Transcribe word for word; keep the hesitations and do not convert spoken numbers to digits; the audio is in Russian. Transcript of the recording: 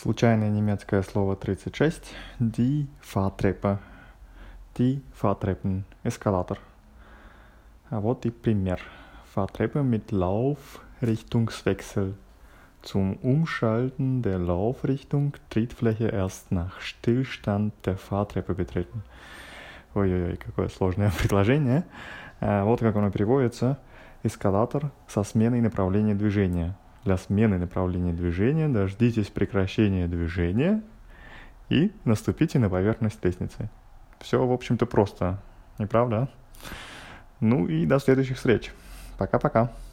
Случайное немецкое слово тридцать шесть. Die Fahrtreppe. Die Fahrtreppen. Эскалатор. А вот и пример. Fahrtreppe mit Laufrichtungswechsel. Zum Umschalten der Laufrichtung Trittfläche erst nach Stillstand der Fahrtreppe betreten. Ой-ой-ой, какое сложное предложение. А вот как оно переводится. Эскалатор со сменой направления движения. Для смены направления движения дождитесь прекращения движения и наступите на поверхность лестницы. Все, в общем-то, просто, не правда? Ну и до следующих встреч. Пока-пока.